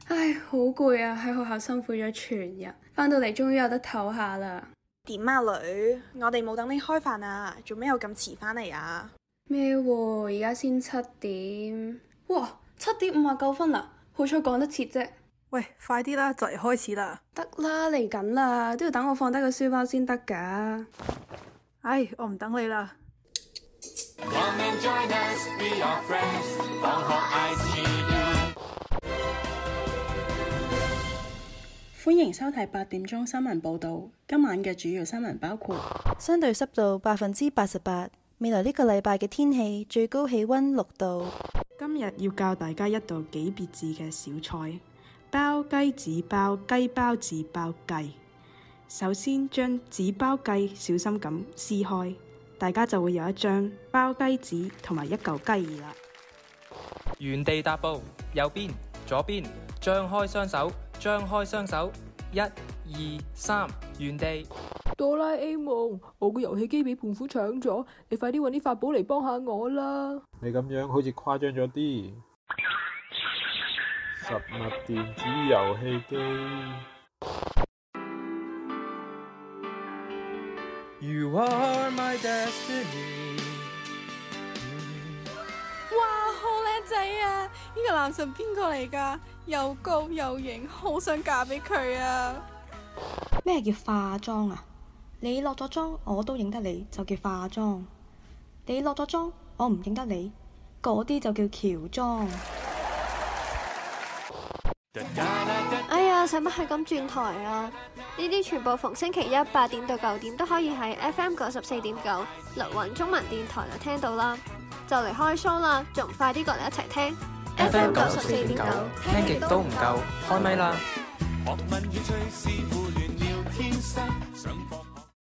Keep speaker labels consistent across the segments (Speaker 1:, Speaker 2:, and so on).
Speaker 1: 唉，好攰啊！喺學校辛苦咗全日，返到嚟終於有得唞下啦。
Speaker 2: 點啊女？我哋冇等你開飯啊，做咩又咁遲返嚟啊？
Speaker 1: 咩喎？而家先7點。哇，7:59啦，好彩趕得切啫。
Speaker 3: 喂，快啲啦，就嚟開始啦。
Speaker 1: 得啦，嚟緊啦，都要等我放低個書包先得㗎。
Speaker 3: 唉，我唔等你啦。
Speaker 4: Come and join us, be our friends. 放學 ICU。
Speaker 5: 歡迎收睇8點鐘新聞報導。今晚嘅主要新聞包括：
Speaker 6: 相對濕度88%，未來呢個禮拜嘅天氣最高氣溫6度。
Speaker 7: 今日要教大家一道幾別致嘅小菜——包雞紙包雞包紙包雞。首先將紙包雞小心咁撕開，大家就會有一張包雞紙同埋一嚿雞翼啦。
Speaker 8: 原地踏步，右邊、左邊，張開雙手，張開雙手，1、2、3，原地。
Speaker 9: 哆啦 A 夢，我個遊戲機俾胖虎搶咗，你快啲搵啲法寶嚟幫下我啦！
Speaker 10: 你咁樣好似誇張咗啲。實物電子遊戲機。
Speaker 8: You are my destiny。
Speaker 2: 哇，好靚仔啊！呢個男神邊個嚟㗎？又高又型，好想嫁俾佢啊！
Speaker 11: 咩叫化妝啊？你落咗妝我都認得你，就叫化妝；你落咗妝我唔認得你，嗰啲就叫喬裝。
Speaker 12: 哎呀，使乜係咁轉台啊？呢啲全部逢星期一8點到9點都可以喺 FM 94.9綠雲中文電台就聽到啦。就嚟開 show 啦，仲快啲過嚟一齊聽
Speaker 8: FM 94.9，聽極都唔夠，開咪啦！
Speaker 4: 學問與趣事互聯聊天室，上課。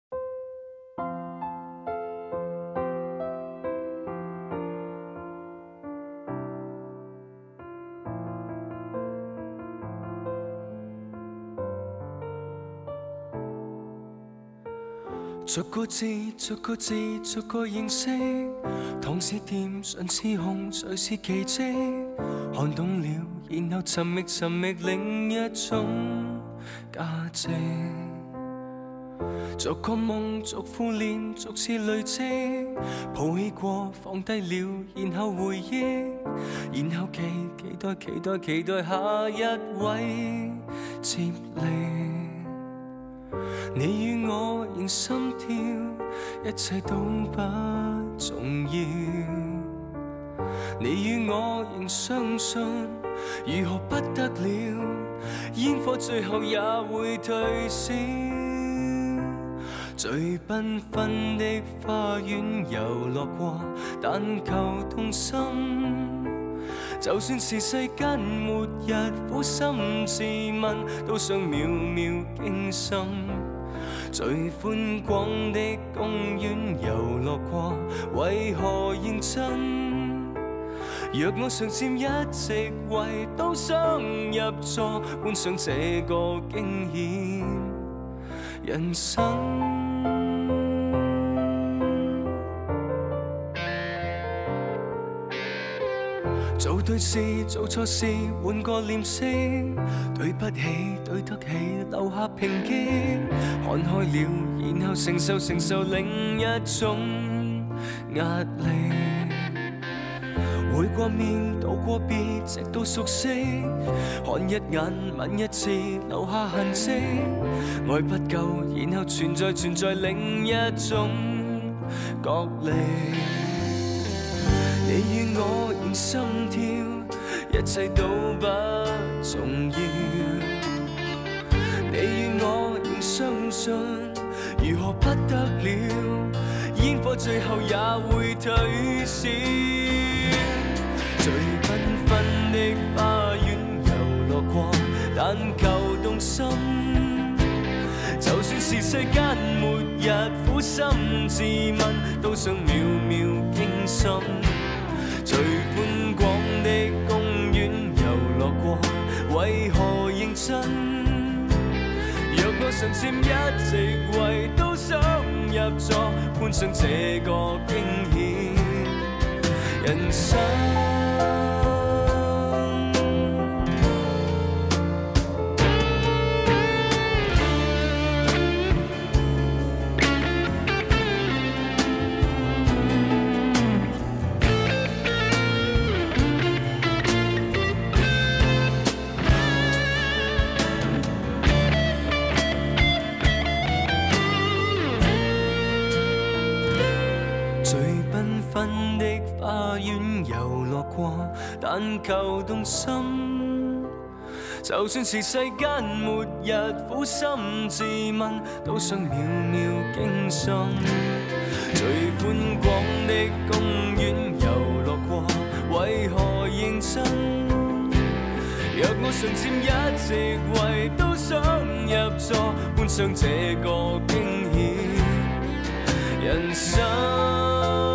Speaker 13: 逐個字，逐個字，逐個認識。糖是甜，唇是紅，誰是奇蹟？看懂了，然後尋覓尋覓另一種價值。逐個夢，逐副臉，逐次累積。抱起過，放低了，然後回憶，然後期待下一位接力。你與我仍心跳，一切都不重要。你與我仍相信，如何不得了？煙火最後也會退燒。最繽紛的花園遊樂過，但求動心。就算是世間末日，苦心自問，都想秒秒驚心。最寬廣的公園遊樂過，為何認真？若我常佔一席位，都想入座，觀賞這個驚險人生。做對事，做錯事，換個臉色。對不起，對得起，留下抨擊。看開了，然後承受另一種壓力。會過面，道過別，直到熟悉。看一眼，吻一次，留下痕跡。愛不夠，然後存在另一種角力。你與我仍心跳，一切都不重要。你與我仍相信，如何不得了？煙火最後也會退燒。最繽紛的花園遊樂過，但求動心。就算是世間末日，苦心自問，都想秒秒驚心。最寬廣的公園遊樂過，為何認真？若我常佔一席位，都想入座，觀賞這個驚險人生。 園遊樂過，但求動心。就算是世間末日，苦心自問，都想秒秒驚心。最寬廣的公園遊樂過，為何認真？若我常佔一席位，都想入座，觀賞這個驚險人生。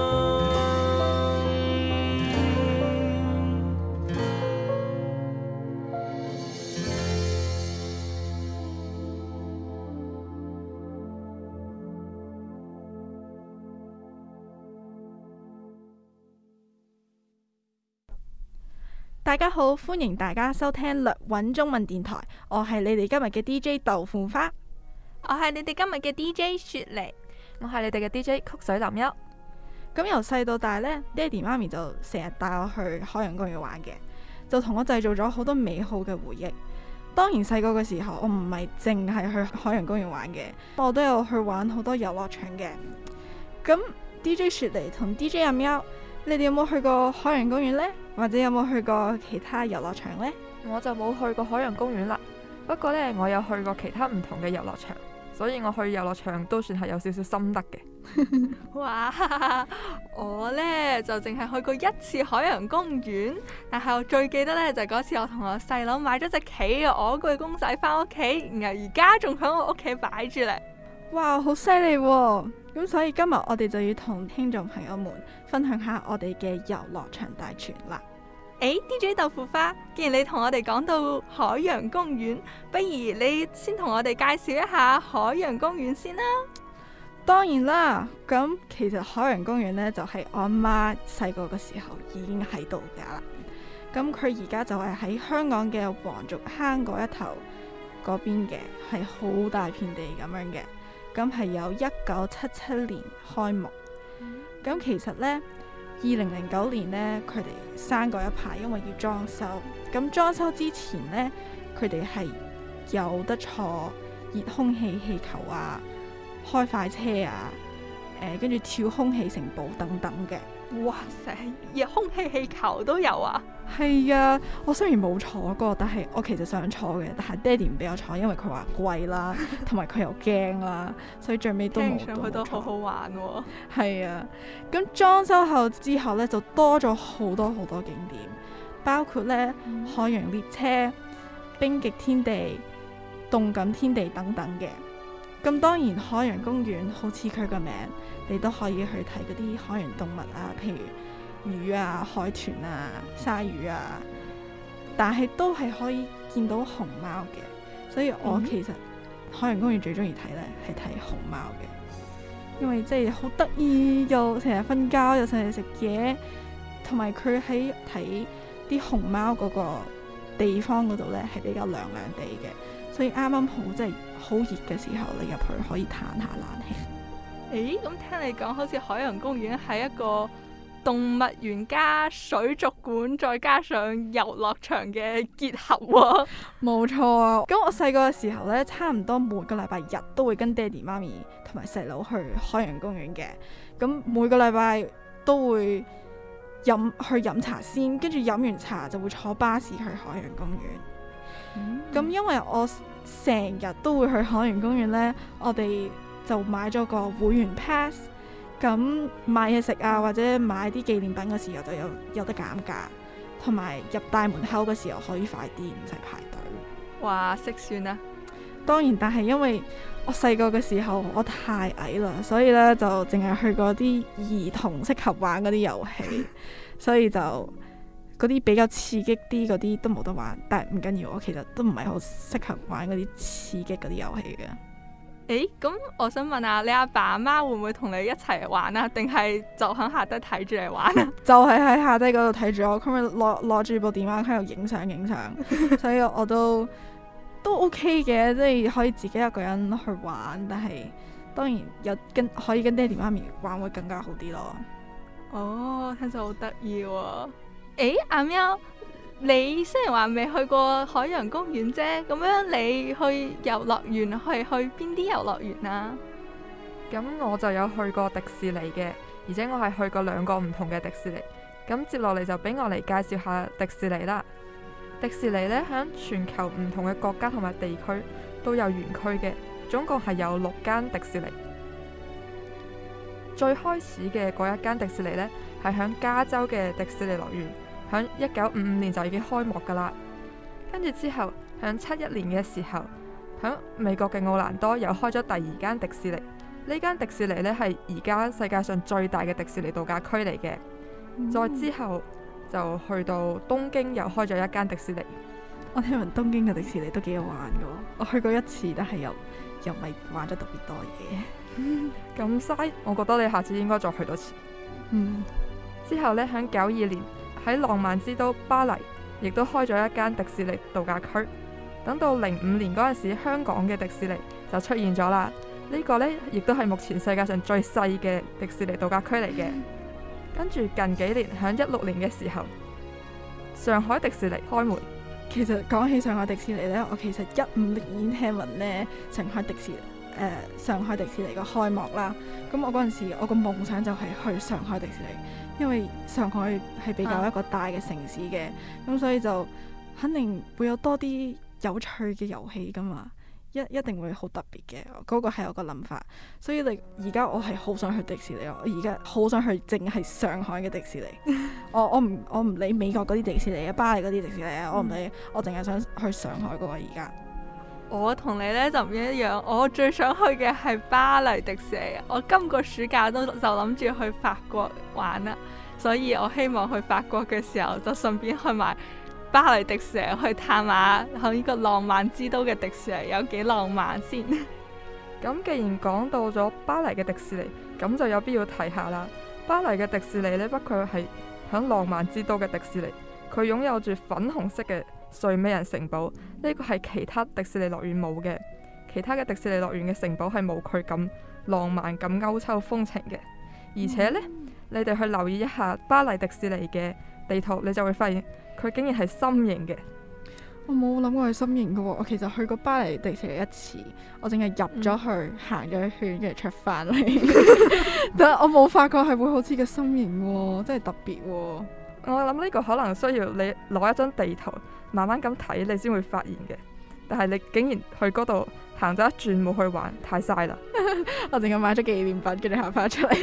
Speaker 7: 大家好，歡迎大家收聽略揾中文電台，我係你哋今日嘅 DJ 豆腐花，
Speaker 2: 我係你哋今日嘅 DJ 雪梨，
Speaker 14: 我係你哋嘅 DJ 曲水林優。
Speaker 7: 咁由細到大呢，爹哋媽咪就成日帶我去海洋公園玩嘅，就同我製造咗好多美好嘅回憶。當然細個嘅時候，我唔係淨係去海洋公園玩嘅，我都有去玩好多遊樂場嘅。咁 DJ 雪梨同 DJ 阿喵，你哋有冇去過海洋公園呢？或者有冇去過其他遊樂場呢？
Speaker 14: 我就冇去過海洋公園啦，不過呢，我有去過其他唔同嘅遊樂場，所以我去遊樂場都算係有少少心得嘅。
Speaker 2: 哇，我呢就淨係去過一次海洋公園，但係我最記得呢，就係嗰次我同我細佬買咗隻企鵝我具公仔翻屋企，然後而家仲喺我屋企擺住嚟。
Speaker 7: 哇，好犀利喎！咁所以今日我哋就要同聽眾朋友們分享下我哋嘅遊樂場大全啦。
Speaker 2: DJ 豆腐花，既然你同我哋講到海洋公園，不如你先同我哋介紹一下海洋公園先啦。
Speaker 7: 當然啦，咁其實海洋公園呢，就係我阿媽細個嘅時候已經喺度噶啦。咁佢而家就係喺香港嘅黃竹坑嗰一頭嗰邊嘅，係好大片地咁樣嘅。咁係由1977年開幕。咁其實呢，2009年呢，佢哋閂過一排，因為要裝修。咁裝修之前呢，佢哋係有得坐熱空氣氣球啊、開快車啊、跟住跳空氣城堡等等嘅。
Speaker 2: 哇塞，熱空氣氣球都有啊！
Speaker 7: 係啊，我雖然冇坐過，但係我其實想坐嘅，但係爹哋唔俾我坐，因為佢話貴啦，同埋佢又驚啦，所以最尾都冇。
Speaker 2: 聽上去都好好玩喎。
Speaker 7: 係啊，咁裝修後之後呢，就多咗好多好多景點，包括呢海洋列車、冰極天地、動感天地等等嘅。咁當然海洋公園好似佢個名，你都可以去睇嗰啲海洋動物啊，譬如魚啊、海豚啊、鯊魚啊，但係都係可以見到熊貓嘅。所以我其實海洋公園最中意睇呢係睇熊貓嘅，因為即係好得意，又成日瞓覺，又成日食嘢，同埋佢喺睇啲熊貓嗰個地方嗰度呢係比較涼涼地嘅，所以啱啱好即係好熱嘅時候，你入去可以嘆下冷氣。
Speaker 2: 咁聽你講，好似海洋公園係一個動物園加水族館，再加上遊樂場嘅結合喎。
Speaker 7: 冇錯啊！咁我細個嘅時候呢，差唔多每個禮拜日都會跟爹哋媽咪同埋細佬去海洋公園嘅。咁每個禮拜都會去飲茶先，跟住飲完茶就會坐巴士去海洋公園。咁因為我成日都會去海洋公園呢，我哋就買咗個會員 pass， 咁買嘢食啊或者買啲紀念品嘅時候就有得減價，同埋入大門口嘅時候可以快啲，唔使排隊。
Speaker 2: 哇，識算啊！
Speaker 7: 當然，但係因為我細個嘅時候我太矮啦，所以呢就淨係去過啲兒童適合玩嗰啲遊戲，所以就嗰啲比較刺激啲嗰啲都冇得玩。但係唔緊要，我其實都唔係好適合玩嗰啲刺激嗰啲遊戲嘅。
Speaker 2: 咁我想問下，你阿爸阿媽會唔會同你一齊玩啊？定係就喺下低睇住你玩啊？
Speaker 7: 就係喺下低嗰度睇住我，佢咪攞住部電話喺度影相，所以我都 OK 嘅，即係可以自己一個人去玩。但係當然可以跟爹哋媽咪玩會更加好啲咯。
Speaker 2: 哦，聽咗好得意喎！阿喵，你雖然話未去過海洋公園啫，咁樣你去遊樂園係去邊啲遊樂園啊？
Speaker 14: 咁我就有去過迪士尼嘅，而且我係去過2個唔同嘅迪士尼。 咁接落嚟就俾我嚟介紹下迪士尼啦。迪士尼呢，響全球唔同嘅國家同埋地區都有園區嘅，總共係有6間迪士尼。最開始嘅嗰一間迪士尼呢，係響加州嘅迪士尼樂園，響1955年就已經開幕噶啦。跟住之後，響71年嘅時候，響美國嘅奧蘭多又開咗第2間迪士尼。呢間迪士尼呢，係而家世界上最大嘅迪士尼度假區嚟嘅。再之後就去到東京，又開咗一間迪士尼。
Speaker 3: 我聽聞東京嘅迪士尼都幾好玩噶，我去過一次，但係又唔係玩咗特別多嘢。
Speaker 14: 咁嘥，我覺得你下次應該再去多次。之後呢，響92年喺浪漫之都巴黎，亦都開咗一間迪士尼度假區。等到05年嗰陣時，香港嘅迪士尼就出現咗啦。呢個呢，亦都係目前世界上最細嘅迪士尼度假區嚟嘅。跟住近幾年，響16年嘅時候，上海迪士尼開門。
Speaker 3: 其實講起上海迪士尼呢，我其實15年已經聽聞呢上海迪士尼個開幕啦。咁我嗰陣時，我個夢想就係去上海迪士尼，因為上海係比較一個大嘅城市嘅，咁所以就肯定會有多啲有趣嘅遊戲噶嘛。一定會好特別嘅，嗰個係我個諗法。所以而家我係好想去迪士尼，我而家好想去淨係上海嘅迪士尼。我唔理美國嗰啲迪士尼啊，巴黎嗰啲迪士尼啊，我唔理，我淨係想去上海嗰個而家。
Speaker 2: 我同你呢就唔一樣，我最想去嘅係巴黎迪士尼。我今個暑假就諗住去法國玩啦，所以我希望去法國嘅時候就順便去埋巴黎迪士尼，去探下喺呢個浪漫之都嘅迪士尼有幾浪漫先。
Speaker 14: 咁既然講到咗巴黎嘅迪士尼，咁就有必要提下啦。巴黎嘅迪士尼呢，不愧係響浪漫之都嘅迪士尼，佢擁有住粉紅色嘅睡美人城堡，呢個係其他迪士尼樂園冇嘅。其他嘅迪士尼樂園嘅城堡係冇佢咁浪漫、咁歐洲風情嘅。而且呢，你哋去留意一下巴黎迪士尼嘅地圖，你就會發現佢竟然係心形嘅。
Speaker 3: 我冇諗過係心形嘅喎，我其實去過巴黎迪士尼一次，我淨係入咗去行咗一圈，跟住出翻嚟。但係我冇發覺係會好似個心形喎，真係特別喎。
Speaker 14: 我諗呢個可能需要你攞一張地圖慢慢咁睇，你先會發現嘅。但係你竟然去嗰度行咗一轉冇去玩，太嘥啦！
Speaker 3: 我淨係買咗紀念品，跟住行翻出嚟。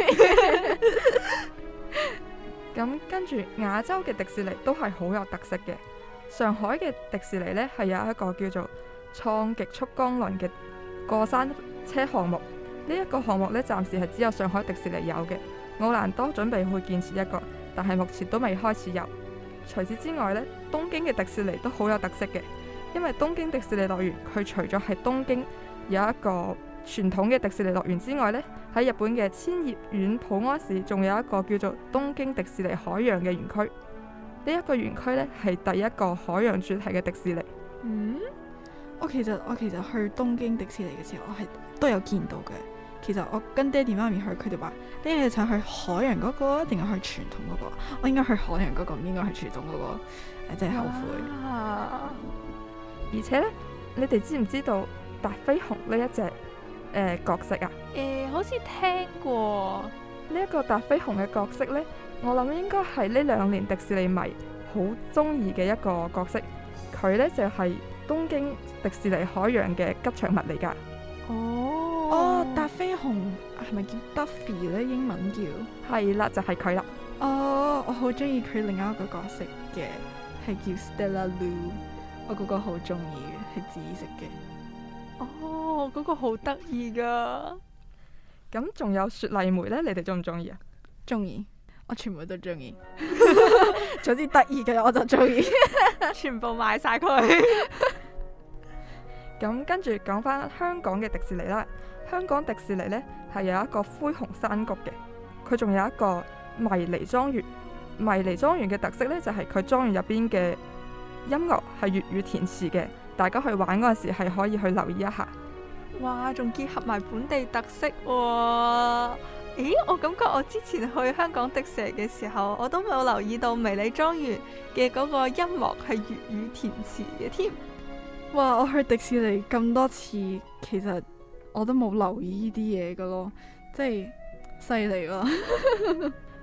Speaker 14: 咁跟住亞洲嘅迪士尼都係好有特色嘅。上海嘅迪士尼呢，係有一個叫做創極速光輪嘅過山車項目。呢一個項目呢，暫時係只有上海迪士尼有嘅。奧蘭多準備去建設一個，但係目前都未開始有。除此之外呢，東京嘅迪士尼都好有特色嘅，因為東京迪士尼樂園佢除咗係東京有一個傳統嘅迪士尼樂園之外呢，喺日本嘅千葉縣浦安市仲有一個叫做東京迪士尼海洋嘅園區。呢一個園區呢，係第一個海洋主題嘅迪士尼。
Speaker 3: 我其實去東京迪士尼嘅時候，我係都有見到嘅。其實我跟爹哋媽咪去，佢哋話：你係想去海洋嗰個，定係去傳統嗰個？我應該去海洋嗰個，唔應該去傳統嗰個。真係後悔。
Speaker 14: 而且呢，你哋知唔知道達菲熊呢一隻角色啊？
Speaker 2: 好似聽過。
Speaker 14: 呢一個達菲熊嘅角色呢，我諗應該係呢2年迪士尼迷好中意嘅一個角色。佢呢就係東京迪士尼海洋嘅吉祥物嚟㗎。
Speaker 3: 達菲熊係咪叫 Duffy 呢？英文叫
Speaker 14: 係啦，就係佢啦。
Speaker 3: 我好中意佢另外一個角色嘅，係叫 Stella Lou。我嗰個好中意嘅，係紫色嘅。
Speaker 2: 嗰個好得意噶。
Speaker 14: 咁仲有雪莉梅呢？你哋中唔中意啊？
Speaker 3: 中意，我全部都中意。總之得意嘅我就中意，
Speaker 2: 全部買晒佢。
Speaker 14: 咁跟住講翻香港嘅迪士尼啦。香港迪士尼呢，係有一個灰熊山谷嘅，佢仲有一個迷離莊園。迷離莊園嘅特色呢，就係佢莊園入邊嘅音樂係粵語填詞嘅，大家去玩嗰陣時係可以去留意一下。
Speaker 2: 哇，仲結合埋本地特色喎！咦，我感覺我之前去香港迪士尼嘅時候，我都冇留意到迷你莊園嘅嗰個音樂係粵語填詞嘅添。
Speaker 3: 哇，我去迪士尼咁多次，其實我都冇留意呢啲嘢噶咯，即係犀利咯。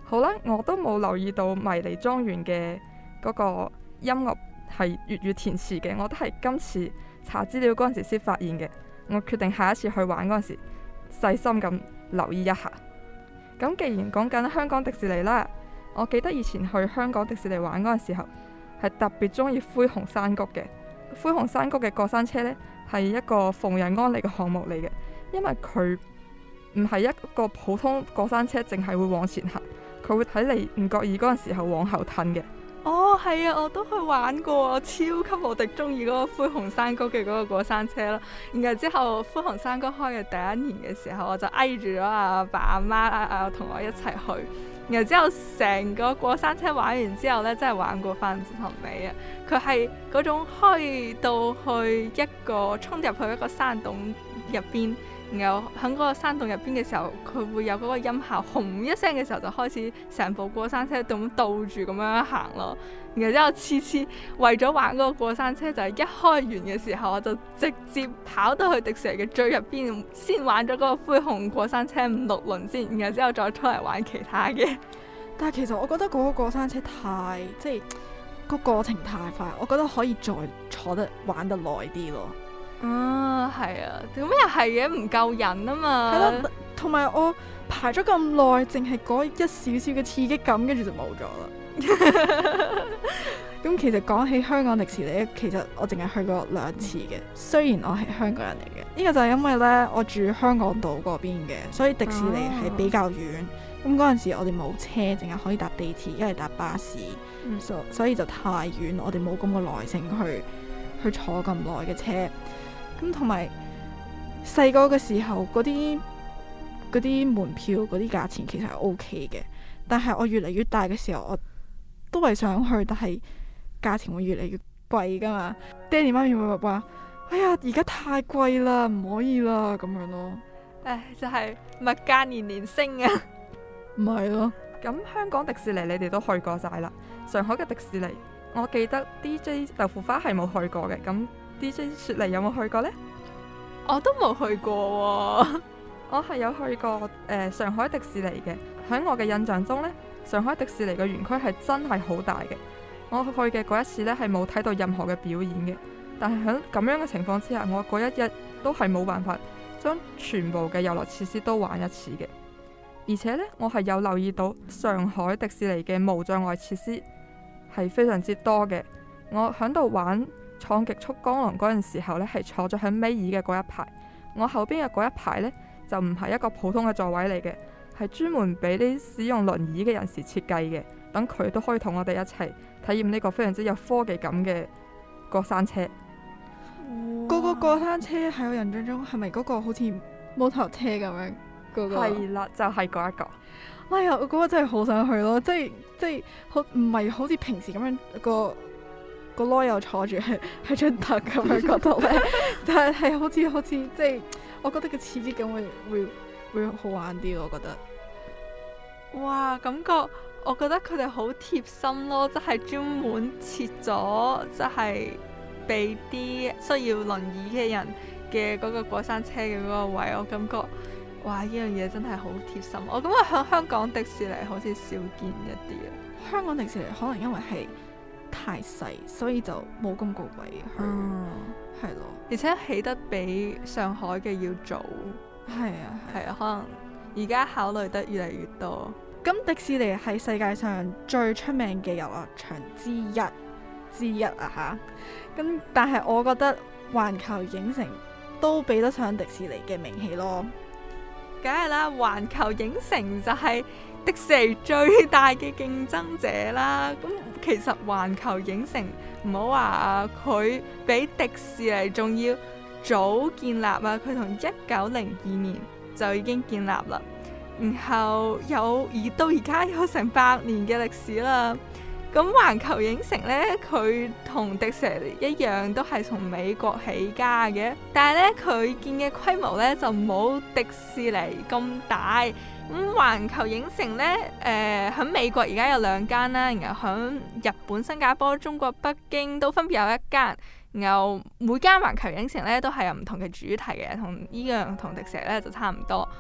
Speaker 14: 好啦，我都冇留意到迷離莊園嘅嗰個音樂係粵語填詞嘅，我都係今次查資料嗰陣時先發現嘅。我決定下一次去玩嗰陣時細心咁留意一下。咁既然講緊香港迪士尼啦，我記得以前去香港迪士尼玩嗰陣時候係特別中意灰熊山谷嘅。灰熊山谷嘅過山車呢，係一個逢人安利嘅項目嚟嘅，因為佢唔係一個普通過山車，淨係會往前行，佢會喺你唔覺意嗰陣時候往後褪嘅。
Speaker 2: 哦，係啊，我都去玩過，我超級無敵中意嗰個灰熊山谷嘅嗰個過山車咯。然後之後灰熊山谷開嘅第一年嘅時候，我就挨住咗阿爸阿媽同我一齊去。然後之後成個過山車玩完之後呢，真係玩過翻至頭尾啊！佢係嗰種開到去一個衝入去一個山洞入邊。然後喺嗰個山洞入邊嘅時候，佢會有嗰個音效，轟一聲嘅時候就開始成部過山車咁倒住咁樣行咯。然後之後次次為咗玩嗰個過山車，就係一開完嘅時候，我就直接跑到去迪士尼嘅最入邊，先玩咗嗰個灰熊過山車5-6輪先，然後之後再出嚟玩其他嘅。
Speaker 3: 但係其實我覺得嗰個過山車即係個過程太快，我覺得可以再坐得玩得耐啲咯。
Speaker 2: 係啊，咁又係嘅，唔夠人啊嘛。
Speaker 3: 係咯，同埋我排咗咁耐，淨係嗰一少少嘅刺激感，跟住就冇咗啦。咁其實講起香港迪士尼，其實我淨係去過2次嘅。雖然我係香港人嚟嘅，呢個就係因為呢，我住香港島嗰邊嘅，所以迪士尼係比較遠。咁嗰陣時我哋冇車，淨係可以搭地鐵，一係搭巴士，所以就太遠，我哋冇咁嘅耐性去坐咁耐嘅車。咁同埋細個嘅時候，嗰啲門票嗰啲價錢其實係 OK 嘅，但係我越嚟越大嘅時候，我都係想去，但係價錢會越嚟越貴噶嘛。爹哋媽咪會話：哎呀，而家太貴啦，唔可以啦，咁樣咯。
Speaker 2: 就係物價年年升啊！
Speaker 3: 唔係咯。
Speaker 14: 咁香港迪士尼你哋都去過晒啦，上海嘅迪士尼，我記得 DJ 豆腐花係冇去過嘅，咁。DJ 雪梨有冇去過呢？
Speaker 2: 我都冇去過喎。
Speaker 14: 我係有去過上海迪士尼嘅。喺我嘅印象中呢，上海迪士尼嘅園區係真係好大嘅。我去嘅嗰一次呢，係冇睇到任何嘅表演嘅，但係喺咁樣嘅情況之下，我嗰一日都係冇辦法將全部嘅遊樂設施都玩一次嘅。而且呢，我係有留意到上海迪士尼嘅無障礙設施係非常之多嘅。我喺度玩創極速光廊嗰陣時候呢，係坐咗喺尾二嘅嗰一排。我後邊嘅嗰一排呢，就唔係一個普通嘅座位嚟嘅，係專門俾啲使用輪椅嘅人士設計嘅，等佢都可以同我哋一齊體驗呢個非常之有科技感嘅過山車。
Speaker 3: 嗰個過山車喺我印象中係咪嗰個好似摩托車咁樣？
Speaker 14: 係啦，就係嗰一個。
Speaker 3: 哎呀，我嗰個真係好想去咯，即係好唔係好似平時咁樣個囉柚坐住喺張凳咁樣嗰度咧，但係好似即係，我覺得個刺激感會好玩啲，我覺得。
Speaker 2: 哇，感覺我覺得佢哋好貼心咯，即係專門設咗，即係俾啲需要輪椅嘅人嘅嗰個過山車嘅嗰個位，我感覺哇，呢樣嘢真係好貼心。我感覺喺香港迪士尼好似少見一啲啊。
Speaker 3: 香港迪士尼可能因為係太細，所以就冇咁高貴去，係咯。
Speaker 2: 而且起得比上海嘅要早，
Speaker 3: 係啊，
Speaker 2: 可能而家考慮得越嚟越多。
Speaker 3: 咁迪士尼係世界上最出名嘅遊樂場之一啊吓。咁但係我覺得環球影城都比得上迪士尼嘅名氣咯。
Speaker 2: 梗係啦，環球影城就係迪士尼最大嘅競爭者啦。咁其實環球影城唔好話佢比迪士尼仲要早建立啊，佢從1902年就已經建立啦，然後到而家有成100年嘅歷史啦。咁環球影城呢，佢同迪士尼一樣都係從美國起家嘅，但係呢，佢建嘅規模呢就冇迪士尼咁大。咁環球影城呢，喺美國而家有2間啦，然後喺日本、新加坡、中國北京都分別有1間。然後每間環球影城呢都係有唔同嘅主題嘅，同迪士尼呢就差唔多。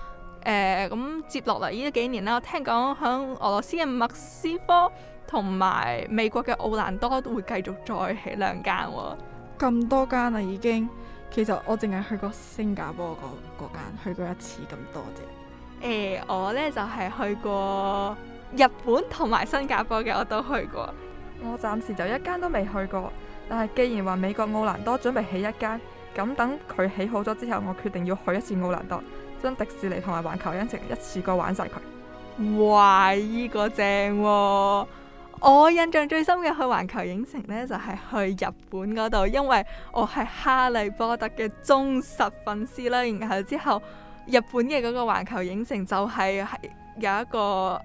Speaker 2: 咁接落嚟呢幾年啦，我聽講響俄羅斯嘅莫斯科同埋美國嘅奧蘭多都會繼續再起2間喎。
Speaker 3: 咁多間啦已經，其實我淨係去過新加坡嗰間，去過一次咁多啫。
Speaker 2: 我呢就係去過日本同埋新加坡嘅，我都去過。
Speaker 14: 我暫時就一間都未去過，但係既然話美國奧蘭多準備起一間，咁等佢起好咗之後，我決定要去一次奧蘭多，將迪士尼同埋環球影城一次過玩晒佢。
Speaker 2: 哇！呢個正喎！我印象最深嘅去環球影城呢，就係去日本嗰度，因為我係哈利波特嘅忠實粉絲啦。然後之後日本嘅嗰個環球影城就係有一個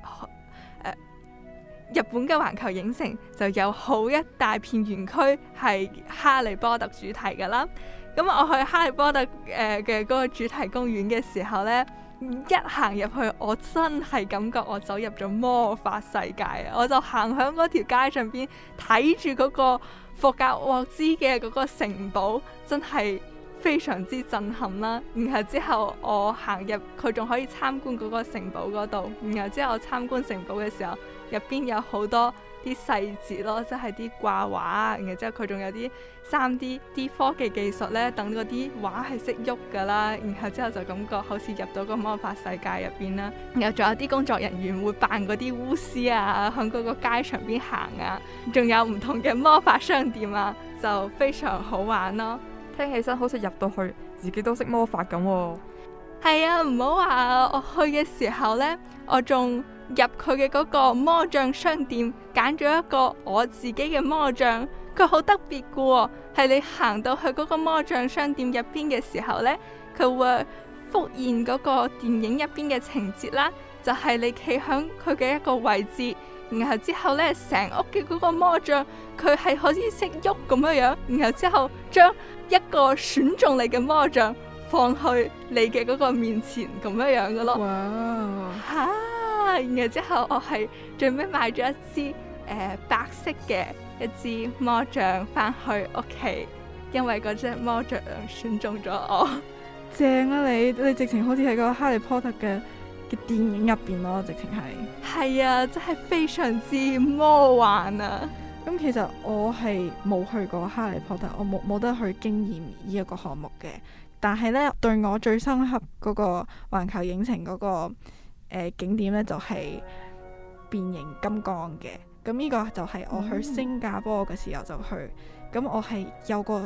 Speaker 2: 日本嘅環球影城就有好一大片園區係哈利波特主題噶啦。咁我去哈利波特嘅嗰個主題公園嘅時候呢，一行入去，我真係感覺我走入咗魔法世界啊！我就行響嗰條街上邊睇住嗰個霍格沃茲嘅嗰個城堡，真係非常之震撼啦。然後之後我行入，佢仲可以參觀嗰個城堡嗰度。然後之後我參觀城堡嘅時候，入邊有好多啲細節咯，即係啲掛畫。然後之後佢仲有啲 3D 啲科技技術呢，等嗰啲畫係識喐噶啦。然後之後就感覺好似入到個魔法世界入邊啦。然後仲有啲工作人員會扮嗰啲巫師啊，響嗰個街場邊行啊。仲有唔同嘅魔法商店啊，就非常好玩咯。
Speaker 14: 聽起身好似入到去自己都識魔法咁喎。
Speaker 2: 係啊，唔好話我去嘅時候呢，我仲入佢嘅嗰個魔杖商店，揀咗一個我自己嘅魔杖。佢好特別嘅喎，係你行到去嗰個魔杖商店入邊嘅時候呢，佢會復現嗰個電影入邊嘅情節啦，就係你企響佢嘅一個位置，然後之後呢，成屋嘅嗰個魔杖佢係好似識喐咁樣，然後之後將一個選中你嘅魔杖放去你嘅嗰個面前咁樣嘅咯。
Speaker 3: 哇！
Speaker 2: 嚇！然後之後我係最尾買咗一支白色嘅一支魔杖翻去屋企，因為嗰隻魔杖選中咗我。
Speaker 3: 正啊！你直情好似喺個哈利波特嘅電影入邊咯，直情
Speaker 2: 係啊，真係非常之魔幻啊！
Speaker 3: 咁其實我係冇去過哈利波特，我冇得去經驗呢一個項目嘅。但係呢，對我最深刻嗰個環球影城嗰個景點呢，就係變形金剛嘅。咁呢個就係我去新加坡嘅時候就去。咁我係有個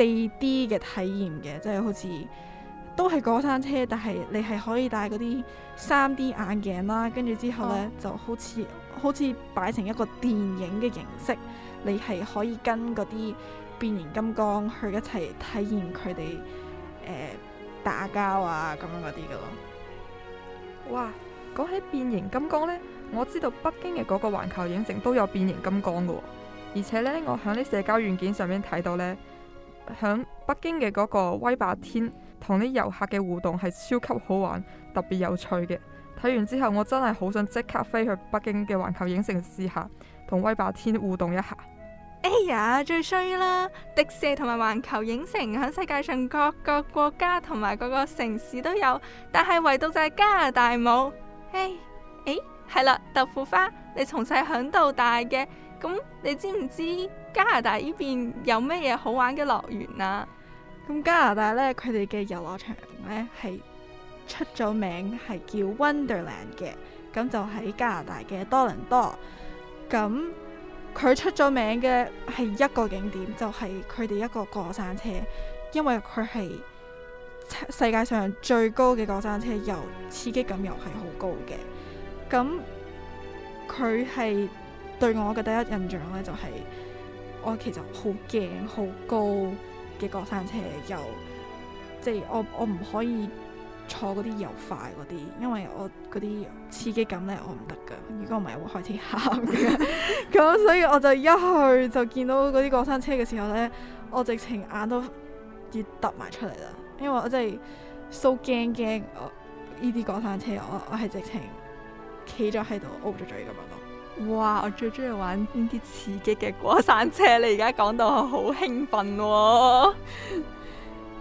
Speaker 3: 4D 嘅體驗嘅，即係好似都係過山車，但係你係可以戴嗰啲 3D 眼鏡啦，跟住之後呢，就好似擺成一個電影嘅形式，你係可以跟嗰啲變形金剛去一齊體驗佢哋打交啊咁樣嗰啲噶咯。
Speaker 14: 哇！講起變形金剛呢，我知道北京嘅嗰個環球影城都有變形金剛噶喎，而且呢，我喺啲社交軟件上面睇到呢，響北京嘅嗰個威霸天同啲遊客嘅互動係超級好玩，特別有趣嘅。睇完之後，我真係好想即刻飛去北京嘅環球影城試下同威霸天互動一下。
Speaker 2: 哎呀，最衰啦！迪士尼同埋環球影城喺世界上各個國家同埋各個城市都有，但係唯獨就係加拿大冇。係啦，豆腐花，你從細響到大嘅，咁你知唔知加拿大呢邊有咩嘢好玩嘅樂園啊？
Speaker 3: 咁加拿大呢，佢哋嘅遊樂場呢係出咗名，係叫 Wonderland 嘅，咁就喺加拿大嘅多倫多。咁佢出咗名嘅係一個景點，就係佢哋一個過山車，因為佢係世界上最高嘅過山車，又刺激感又係好高嘅。咁佢係對我嘅第一印象呢，就係我其實好驚好高嘅過山車，又即係我唔可以坐嗰啲又快嗰啲，因為我嗰啲刺激感呢，我唔得噶，如果唔係我會開始喊嘅。咁所以我就一去就見到嗰啲過山車嘅時候呢，我直情眼都要凸埋出嚟啦，因為我真係 so 驚呢啲過山車，我係直情企咗喺度 O 咗嘴咁樣咯。
Speaker 2: 哇！我最中意玩呢啲刺激嘅過山車，你而家講到我好興奮喎。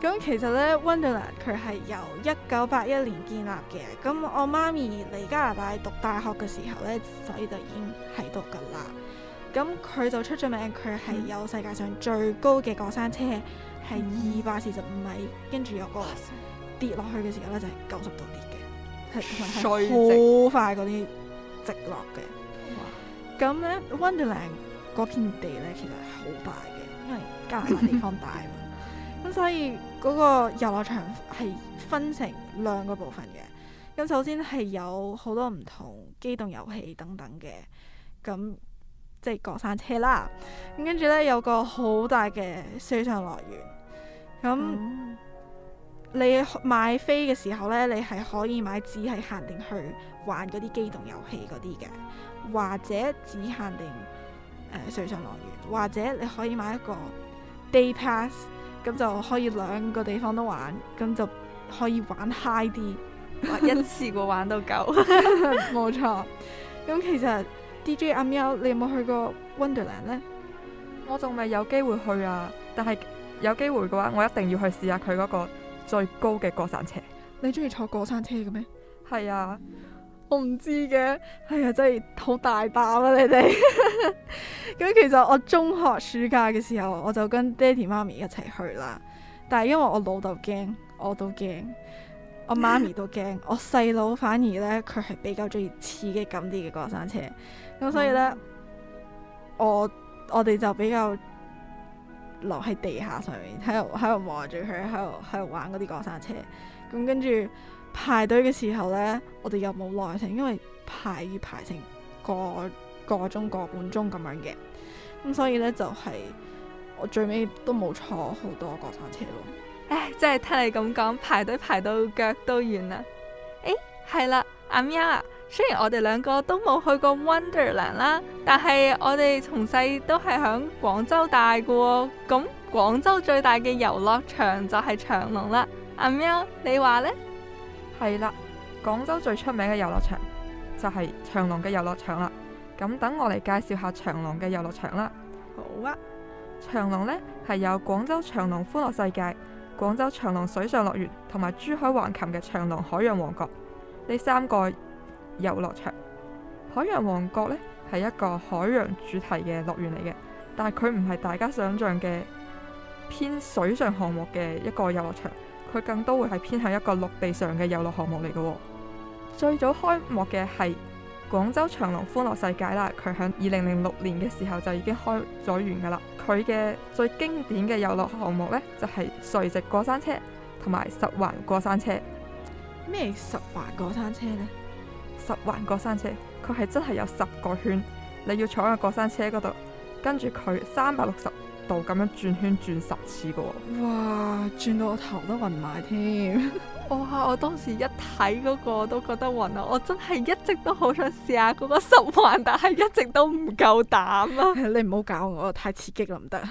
Speaker 3: 咁其實呢 Wonderland 佢係由1981年建立嘅。咁我媽咪嚟加拿大讀大學嘅時候呢，所以就已經喺度噶啦。咁佢就出咗名，佢係有世界上最高嘅過山車，係245米，跟住有個跌落去嘅時候呢，就係90度跌嘅，係好快嗰啲直落嘅。咁呢 Wonderland 嗰片地呢，其實係好大嘅，因為加拿大地方大嘛。咁所以嗰個遊樂場係分成2個部分嘅。咁首先係有好多唔同機動遊戲等等嘅，咁即係過山車啦。咁跟住呢，有個好大嘅水上樂園。咁你買飛嘅時候呢，你係可以買只係限定去玩嗰啲機動遊戲嗰啲嘅，或者只限定水上樂園，或者你可以買一個 day pass。咁就可以2個地方都玩，咁就可以玩 high 啲，
Speaker 2: 一次過玩到夠。
Speaker 3: 冇錯。咁其實 DJ 阿喵，你有冇去過 Wonderland 呢？
Speaker 14: 我仲未有機會去啊，但係有機會嘅話，我一定要去試下佢嗰個最高嘅過山車。
Speaker 3: 你中意坐過山車嘅咩？
Speaker 14: 係啊。
Speaker 3: 我唔知嘅，係啊，真係好大膽啊！你哋咁其實我中學暑假嘅時候，我就跟爹哋媽咪一齊去啦。但係因為我老豆驚，我都驚，我媽咪都驚，我細佬反而呢，佢係比較中意刺激感啲嘅過山車。咁所以呢，我哋就比較留喺地下上面，喺度望住佢，喺度玩嗰啲過山車。咁跟住排隊嘅時候呢，我哋又冇耐性，因為排成個鐘個半鐘咁樣嘅，咁所以呢，就係我最尾都冇坐好多過山車咯。
Speaker 2: 唉，真係聽你咁講，排隊排到腳都軟啦。係啦，阿喵啊，雖然我哋2個都冇去過 Wonderland 啦，但係我哋從細都係響廣州大嘅喎。咁廣州最大嘅遊樂場就係長隆啦。阿喵，你話呢？
Speaker 14: 係啦，廣州最出名嘅遊樂場就係長隆嘅遊樂場啦。咁等我嚟介紹下長隆嘅遊樂場啦。
Speaker 2: 好啊，
Speaker 14: 長隆呢係有廣州長隆歡樂世界、廣州長隆水上樂園同埋珠海橫琴嘅長隆海洋王國呢3個遊樂場。海洋王國呢係一個海洋主題嘅樂園嚟嘅，但係佢唔係大家想象嘅偏水上項目嘅一個遊樂場。佢更多會係偏向一個陸地上嘅遊樂項目嚟嘅。最早開幕嘅係廣州長隆歡樂世界啦，佢喺2006年嘅時候就已經開咗完噶啦。佢嘅最經典嘅遊樂項目呢，就係垂直過山車同埋十環過山車。
Speaker 3: 咩十環過山車呢？
Speaker 14: 十環過山車佢係真係有10個圈，你要坐喺個過山車嗰度，跟住佢360度咁樣轉圈轉10次嘅。
Speaker 3: 哇，轉到我頭都暈埋添。
Speaker 2: 哇！我當時一睇嗰個都覺得暈啊！我真係一直都好想試下嗰個10環，但係一直都唔夠膽啊！
Speaker 3: 你唔好搞我，太刺激啦，唔得。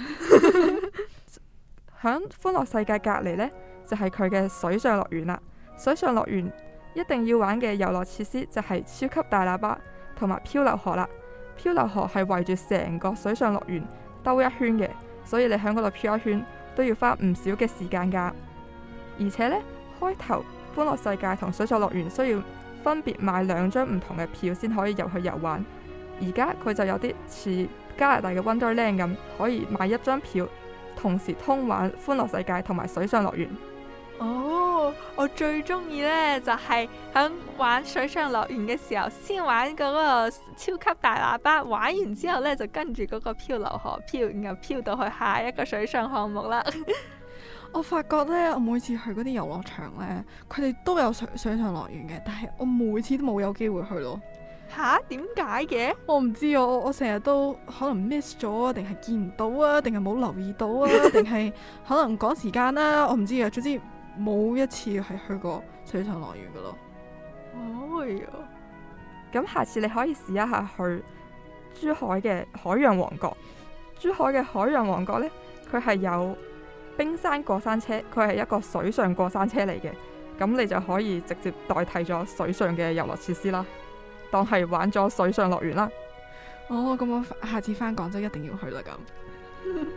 Speaker 14: 響歡樂世界隔籬呢，就係佢嘅水上樂園啦。水上樂園一定要玩嘅遊樂設施就係超級大喇叭同埋漂流河啦。漂流河係圍住成個水上樂園兜一圈嘅，所以你喺嗰度漂一圈都要花唔少嘅時間噶。而且呢，開頭歡樂世界同水上樂園需要分別買2張唔同嘅票先可以入去遊玩。而家佢就有啲似加拿大嘅 Wonderland 咁，可以買1張票，同時通玩歡樂世界同埋水上樂園。
Speaker 2: 哦，我最中意呢，就係喺玩水上樂園嘅時候，先玩嗰個超級大喇叭，玩完之後呢，就跟住嗰個漂流河漂，然後漂到去下一個水上項目啦。
Speaker 3: 我發覺呢，我每次去嗰啲遊樂場呢，佢哋都有水上樂園嘅，但係我每次都冇有機會去咯。
Speaker 2: 吓？點解嘅？
Speaker 3: 我唔知啊，我成日都可能 miss 咗啊，定係見唔到啊，定係冇留意到啊，定係可能趕時間啦，我唔知啊。總之冇一次係去過水上樂園噶咯。
Speaker 2: 哦喲，
Speaker 14: 咁下次你可以試一下去珠海嘅海洋王國。珠海嘅海洋王國呢，佢係有冰山過山車，佢係一個水上過山車嚟嘅，咁你就可以直接代替咗水上嘅遊樂設施啦，當係玩咗水上樂園啦。
Speaker 3: 哦，咁我下次返廣州一定要去啦咁。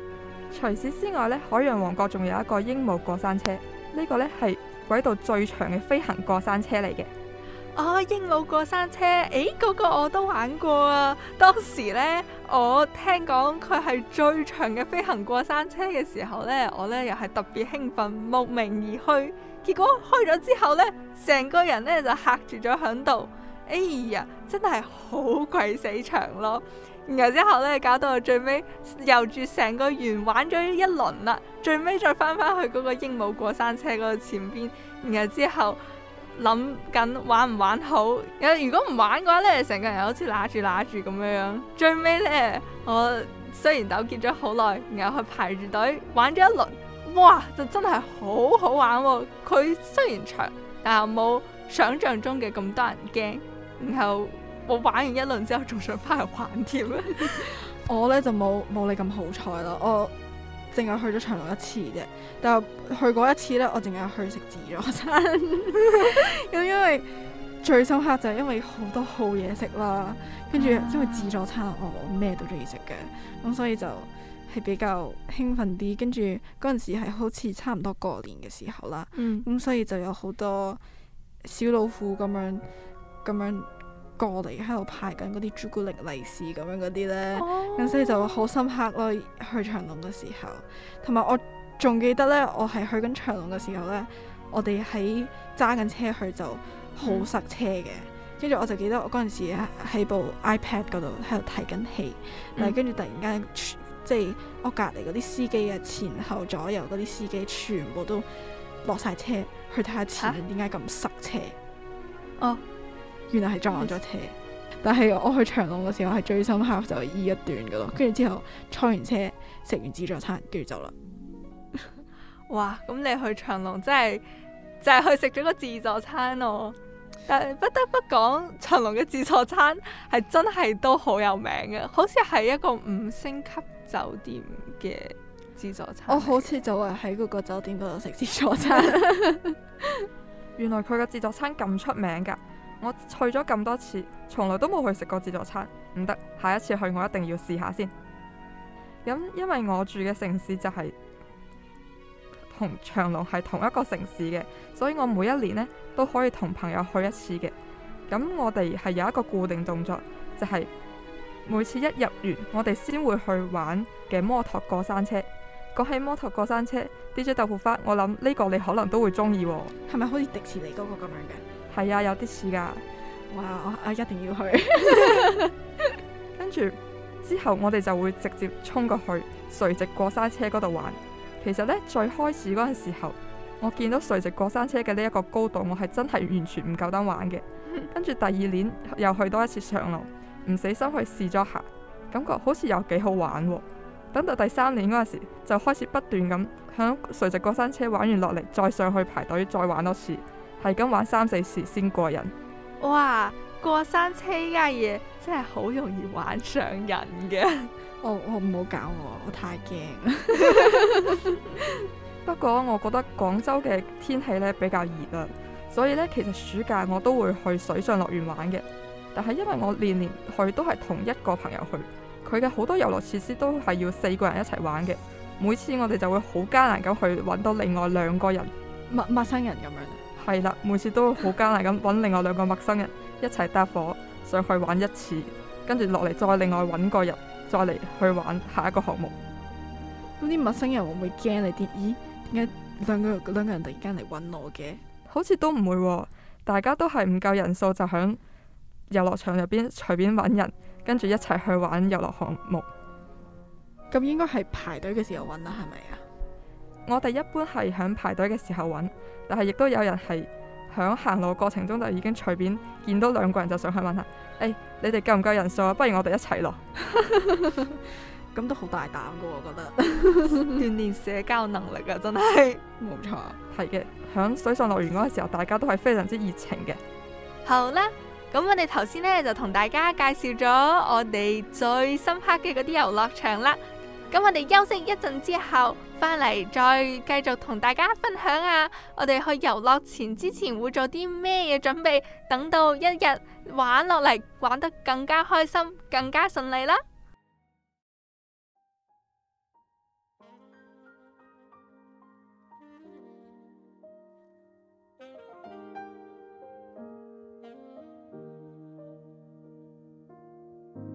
Speaker 14: 除此之外呢，海洋王國仲有一個鸚鵡過山車，呢個呢係軌道最長嘅飛行過山車嚟嘅。
Speaker 2: 哦，鸚鵡過山車，嗰個我都玩過啊！當時呢，我聽講佢係最長嘅飛行過山車嘅時候呢，我呢又係特別興奮，慕名而去。結果開咗之後呢，成個人呢就嚇住咗響度。哎呀，真係好鬼死長咯！然後之後呢，搞到我最尾遊住成個園玩咗一輪啦，最尾再翻返去嗰個鸚鵡過山車嗰度前邊，然後之後諗緊玩唔玩好。如果唔玩嘅話呢，成個人好似揦住咁樣。最尾呢，我雖然糾結咗好耐，然後去排住隊玩咗一輪，哇，就真係好好玩喎！佢雖然長，但係冇想象中嘅咁多人驚。然後我玩完一輪之後，仲想翻去玩添。
Speaker 3: 我呢就冇你咁好彩啦，我淨係去咗長隆一次啫。但係去過一次呢，我淨係去食自助餐。咁因為最深刻就係因為好多好嘢食啦，跟住因為自助餐我咩都中意食嘅，咁所以就係比較興奮啲。跟住嗰陣時係好似差唔多過年嘅時候啦，咁所以就有好多小老虎咁樣過嚟喺度派緊嗰啲朱古力利是咁樣嗰啲呢，咁所以就好深刻咯。去長隆嘅時候，同埋我仲記得呢，我係去緊長隆嘅時候呢，我哋喺揸緊車去就好塞車嘅。跟住我就記得我嗰陣時喺部 iPad 嗰度喺度睇緊戲，但係跟住突然間即係我隔離嗰啲司機啊，前後左右嗰啲司機全部都落晒車去睇下前面點解咁塞車。哦，原來係撞咗車。但係我去長隆嘅時候係最深刻就係依一段噶咯，跟住之後坐完車食完自助餐跟住走啦。
Speaker 2: 哇，咁你去長隆真係就係去食咗個自助餐咯。但係不得不講，長隆嘅自助餐係真係都好有名嘅，好似係一個5星級酒店嘅自助餐。
Speaker 3: 我好似就係喺嗰個酒店嗰度食自助餐。
Speaker 14: 原來佢嘅自助餐咁出名㗎，我去咗咁多次，從來都冇去食過自助餐。唔得，下一次去我一定要試下先。咁因為我住嘅城市就係同長隆係同一個城市嘅，所以我每一年呢都可以同朋友去一次嘅。咁我哋係有一個固定動作，就係每次一入園，我哋先會去玩嘅摩托過山車。講起摩托過山車 ，DJ 豆腐花，我諗呢個你可能都會中意喎。
Speaker 3: 係咪好似迪士尼嗰個咁樣嘅？
Speaker 14: 係啊，有啲似㗎。
Speaker 3: 哇！我一定要去。
Speaker 14: 跟住之後，我哋就會直接衝過去垂直過山車嗰度玩。其實呢，最開始嗰陣時候，我見到垂直過山車嘅呢一個高度，我係真係完全唔夠膽玩嘅。跟住第二年又去多一次長隆，唔死心去試咗下，感覺好似又幾好玩喎。等到第3年嗰陣時，就開始不斷咁響垂直過山車玩完落嚟，再上去排隊再玩多次，係咁玩3-4次先過癮。
Speaker 2: 哇！過山車呢家嘢真係好容易玩上癮嘅。
Speaker 3: 我唔好搞我太驚。
Speaker 14: 不過我覺得廣州嘅天氣呢比較熱啊，所以呢，其實暑假我都會去水上樂園玩嘅。但係因為我年年去都係同一個朋友去。佢嘅好多遊樂設施都係要4個人一齊玩嘅，每次我哋就會好艱難咁去揾到另外2個人
Speaker 3: 陌生人咁樣。
Speaker 14: 係啦，每次都好艱難咁揾另外2個陌生人一齊搭伙上去玩一次，跟住落嚟再另外揾個人再嚟去玩下一個項目。
Speaker 3: 咁啲陌生人會唔會驚你啲？咦，點解兩個人突然間嚟揾我嘅？
Speaker 14: 好似都唔會喎，大家都係唔夠人數就響遊樂場入邊隨便揾人。跟住一齊去玩遊樂項目，
Speaker 3: 咁應該係排隊嘅時候揾啦，係咪啊？
Speaker 14: 我哋一般係響排隊嘅時候揾，但係亦都有人係響行路過程中就已經隨便見到2個人就上去問下，你哋夠唔夠人數啊？不如我哋一齊咯。
Speaker 3: 咁都好大膽噶，我覺得
Speaker 2: 鍛鍊社交能力啊，真係
Speaker 3: 冇錯。
Speaker 14: 係嘅，響水上樂園嗰個時候，大家都係非常之熱情嘅。
Speaker 2: 好啦。咁我哋頭先呢，就同大家介紹咗我哋最深刻嘅嗰啲遊樂場啦。咁我哋休息一陣之後，翻嚟再繼續同大家分享啊，我哋去遊樂之前會做啲咩嘢準備，等到一日玩落嚟玩得更加開心，更加順利啦。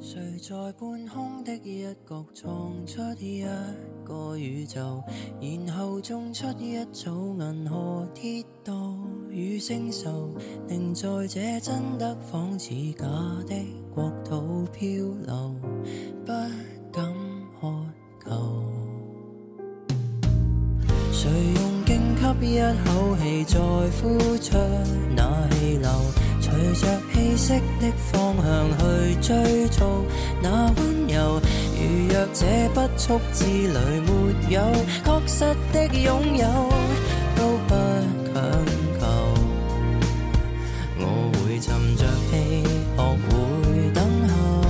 Speaker 13: 誰在半空的一角創出一個宇宙，然後種出一組銀河鐵道與星宿，寧在這真的仿似假的國土漂流，不敢渴求。誰用勁吸一口氣再呼出那氣流，隨着氣息的方向去追逐那溫柔，如若這不速之旅沒有確實的擁有，都不強求。我會沉着氣，學會等候，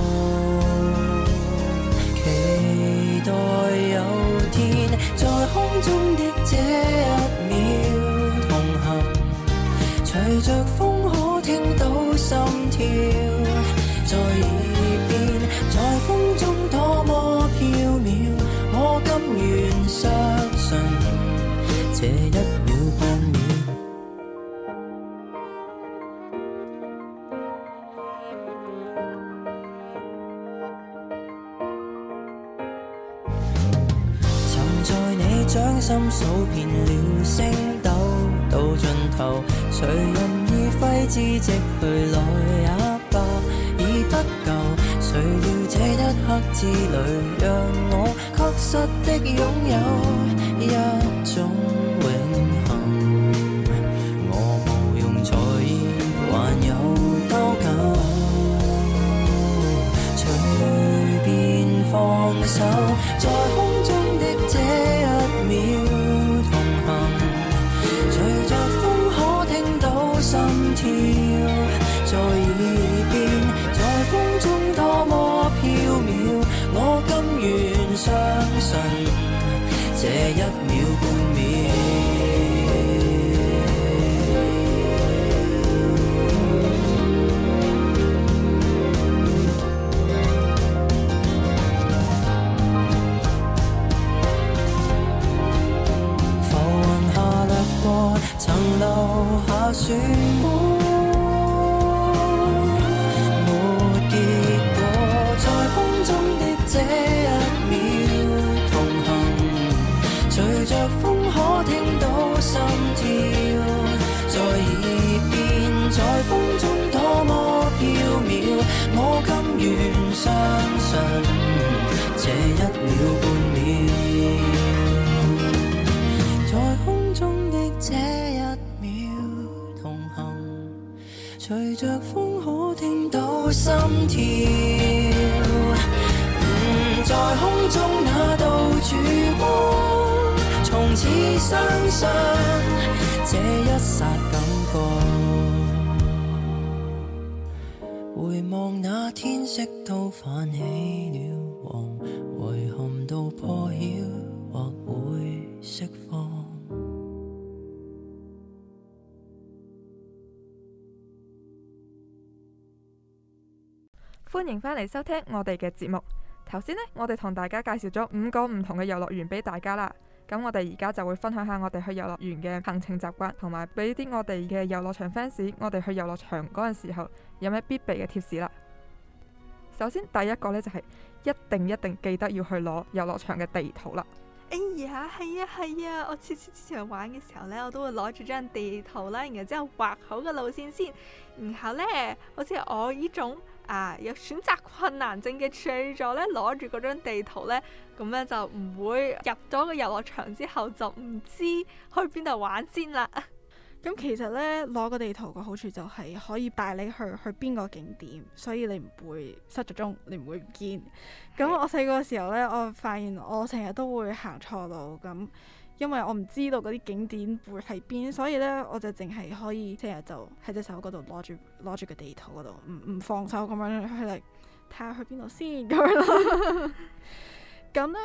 Speaker 13: 期待有天在空中的這一秒同行，隨着風可聽到心跳在耳邊，在風中多麼飄渺，我甘願相信這一秒半秒。曾在你掌心數遍了星斗，到盡頭誰人已揮之即去來也罷，已不夠。誰料這一刻之旅讓我確實的擁有一種永恆，我無用在意還有多久，隨便放手，在空中的這一秒同行，隨着風可聽到心跳在耳邊，在風中多麼飄渺，我甘願相信這一秒半秒。浮雲下掠過，曾留下漩渦。這一秒同行，隨着風可聽到心跳在耳邊，在風中多麼飄渺，我甘願相信這一秒半秒，在空中的這一秒同行，隨着風可聽到心跳在空中那道曙光，從此相信這一剎感覺，回望那天色都泛起了黃，遺憾到破曉或會釋放。
Speaker 14: 歡迎返嚟收聽我哋嘅節目。頭先呢，我哋同大家介紹咗5個唔同嘅遊樂園俾大家啦。咁我哋而家就會分享下我哋去遊樂園嘅行程習慣，同埋俾啲我哋嘅遊樂場 fans， 我哋去遊樂場嗰陣時候有咩必備嘅貼士啦。首先第一個呢，就係一定記得要去攞遊樂場嘅地圖啦。
Speaker 2: 哎呀，係啊，我次次之前玩嘅時候呢，我都會攞住張地圖啦，然後之後畫好個路線先，然後呢，好似我呢種有選擇困難症嘅處女座呢，攞住嗰張地圖呢，咁呢就唔會入咗個遊樂場之後就唔知去邊度玩先啦。
Speaker 3: 咁其實呢，攞個地圖嘅好處就係可以帶你去邊個景點，所以你唔會失咗蹤，你唔會唔見。咁我細個嘅時候呢，我發現我成日都會行錯路，咁因為我唔知道嗰啲景點會喺邊，所以呢，我就淨係可以成日就喺隻手嗰度攞住個地圖嗰度，唔放手咁樣去嚟睇下去邊度先咁樣咯。咁呢，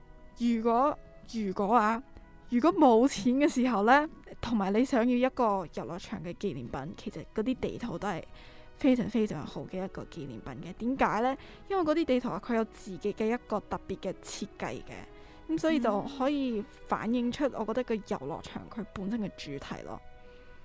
Speaker 3: 如果冇錢嘅時候呢，同埋你想要一個遊樂場嘅紀念品，其實嗰啲地圖都係非常非常好嘅一個紀念品嘅。點解呢？因為嗰啲地圖佢有自己嘅一個特別嘅設計嘅，咁所以就可以反映出我覺得個遊樂場佢本身嘅主題咯。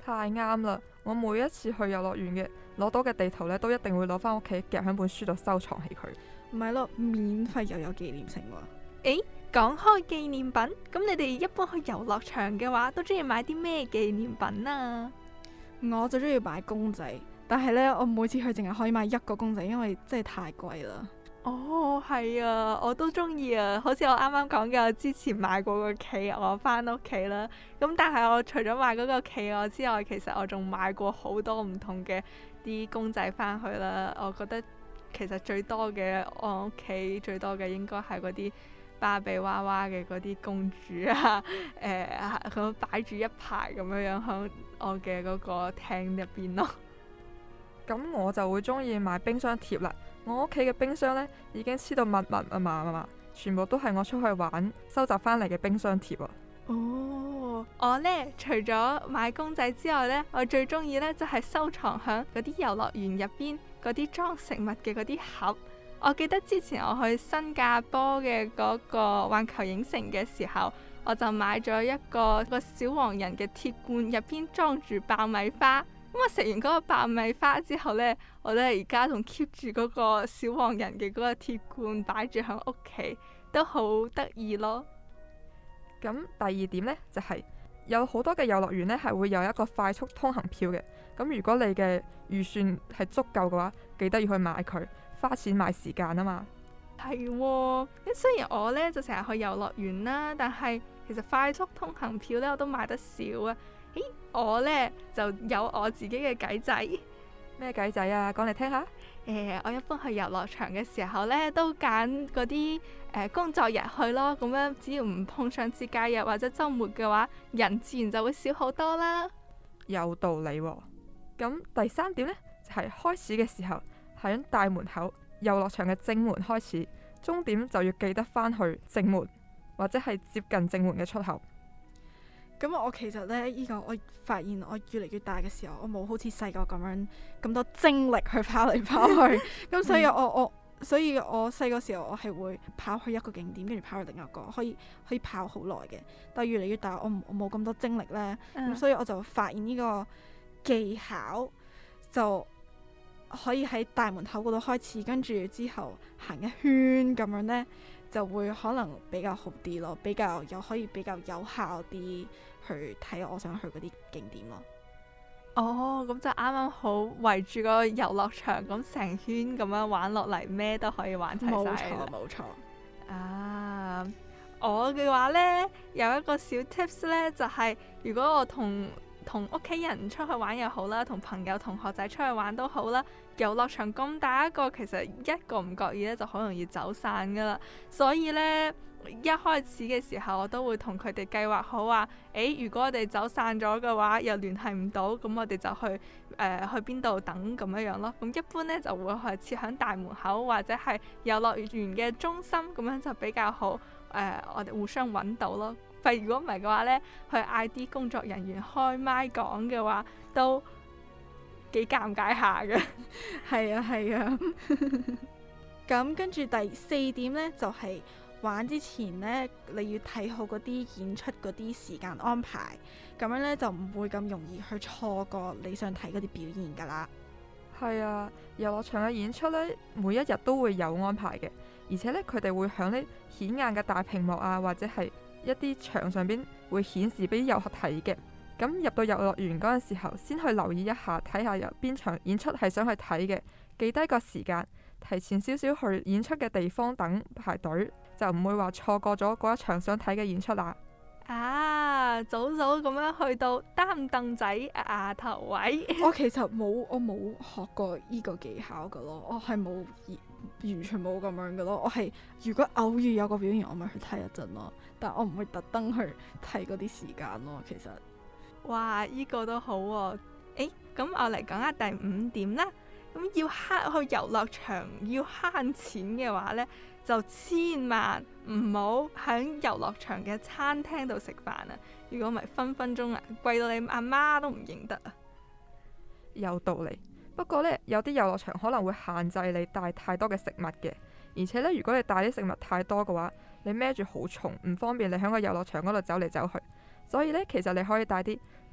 Speaker 14: 太啱啦！我每一次去遊樂園嘅攞到嘅地圖呢，都一定會攞翻屋企夾喺本書度收藏起佢。
Speaker 3: 唔係咯，免費又有紀念性喎。
Speaker 2: 講開紀念品，咁你哋一般去遊樂場嘅話，都中意買啲咩紀念品啊？
Speaker 3: 我就中意買公仔，但係呢，我每次去淨係可以買一個公仔，因為真係太貴啦。
Speaker 2: 哦，係啊，我都中意啊！好似我啱啱講嘅，我之前買過個企鵝翻屋企啦。咁但係我除咗買嗰個企鵝之外，其實我仲買過好多唔同嘅啲公仔翻去啦。我覺得其實最多嘅，我屋企最多嘅應該係嗰啲芭比娃娃嘅嗰啲公主啊，咁擺住一排咁樣喺我嘅嗰個廳入邊咯。
Speaker 14: 咁我就會中意買冰箱貼啦。我屋企嘅冰箱呢，已經黐到密密，全部都係我出去玩收集翻嚟嘅冰箱貼啊。
Speaker 2: 哦，我呢，除咗買公仔之外呢，我最中意呢就係收藏響嗰啲遊樂園入邊嗰啲裝食物嘅嗰啲盒。我記得之前我去新加坡嘅嗰個環球影城嘅時候，我就買咗一個小黃人嘅鐵罐，入邊裝住爆米花。咁我食完嗰個爆米花之後呢，我呢而家仲 keep 住嗰個小黃人嘅嗰個鐵罐擺住喺屋企，都好得意咯。
Speaker 14: 咁第二點呢，就係有好多嘅遊樂園呢係會有一個快速通行票嘅。咁如果你嘅預算係足夠嘅話，記得要去買佢，花錢買時間啊嘛。
Speaker 2: 係喎，咁雖然我呢就成日去遊樂園啦，但係其實快速通行票呢我都買得少啊。我呢就有我自己嘅計仔。
Speaker 14: 咩計仔啊？講嚟聽下。
Speaker 2: 我一般去遊樂場嘅時候呢，都揀嗰啲工作日去咯。咁樣只要唔碰上節假日或者週末嘅話，人自然就會少好多啦。
Speaker 14: 有道理喎。咁第三點呢，就係開始嘅時候喺大門口遊樂場嘅正門開始，終點就要記得返去正門或者係接近正門嘅出口。
Speaker 3: 咁我其實呢，依個我發現我越嚟越大嘅時候，我冇好似細個咁樣咁多精力去跑嚟跑去。咁所以所以我細個時候我係會跑去一個景點，跟住跑去另一個，可以跑好耐嘅。但係越嚟越大，我冇咁多精力呢。咁所以我就發現呢個技巧就可以喺大門口嗰度開始，跟住之後行一圈咁樣呢，就會可能比較好啲咯，可以比較有效啲去睇我想去嗰啲景點咯。
Speaker 2: 哦，咁就啱啱好圍住個遊樂場咁成圈咁樣玩落嚟，咩都可以玩齊晒。
Speaker 3: 冇錯。
Speaker 2: 啊，我嘅話呢，有一個小 tips 呢，就係如果我同屋企人出去玩又好啦，同朋友同學仔出去玩都好啦，遊樂場咁大一個，其實一個唔覺意咧就好容易走散噶啦。所以呢，一開始嘅時候我都會同佢哋計劃好話，如果我哋走散咗嘅話，又聯繫唔到，咁我哋就去邊度等咁樣咯。咁一般呢，就會係設喺大門口或者係遊樂園嘅中心，咁樣就比較好。我哋互相揾到咯。如果唔係嘅話呢，去嗌啲工作人員開麥講嘅話，都幾尷尬下嘅。
Speaker 3: 係啊。咁跟住第四點呢，就係玩之前呢，你要睇好嗰啲演出嗰啲時間安排，咁樣呢，就唔會咁容易去錯過你想睇嗰啲表現噶啦。
Speaker 14: 係啊，遊樂場嘅演出呢，每一日都會有安排嘅，而且呢，佢哋會響呢顯眼嘅大屏幕啊，或者係一啲牆上邊會顯示俾遊客睇嘅。咁入到遊樂園嗰陣時候，先去留意一下，睇下有邊場演出係想去睇嘅，記低個時間，提前少少去演出嘅地方等排隊，就唔會話錯過咗嗰一場想睇嘅演出啦。
Speaker 2: 早咁樣去到擔凳仔頭位。
Speaker 3: 我其實冇學過呢個技巧噶咯，我係完全冇咁樣噶咯。我係如果偶遇有個表演，我咪去睇一陣咯，但我唔會特登去睇嗰啲時間咯。其實，
Speaker 2: 哇，呢個都好喎。咁我嚟講下第5點啦。咁要去遊樂場要慳錢嘅話呢，就千萬唔好喺遊樂場嘅餐廳度食飯啊！如果唔係分鐘貴到你阿媽都唔認得啊！
Speaker 14: 有道理，不過呢，有啲遊樂場可能會限制你帶太多嘅食物嘅，而且呢，如果你帶啲食物太多嘅話，你孭住好重，唔方便你喺個遊樂場嗰度走嚟走去。所以呢，其實你可以帶啲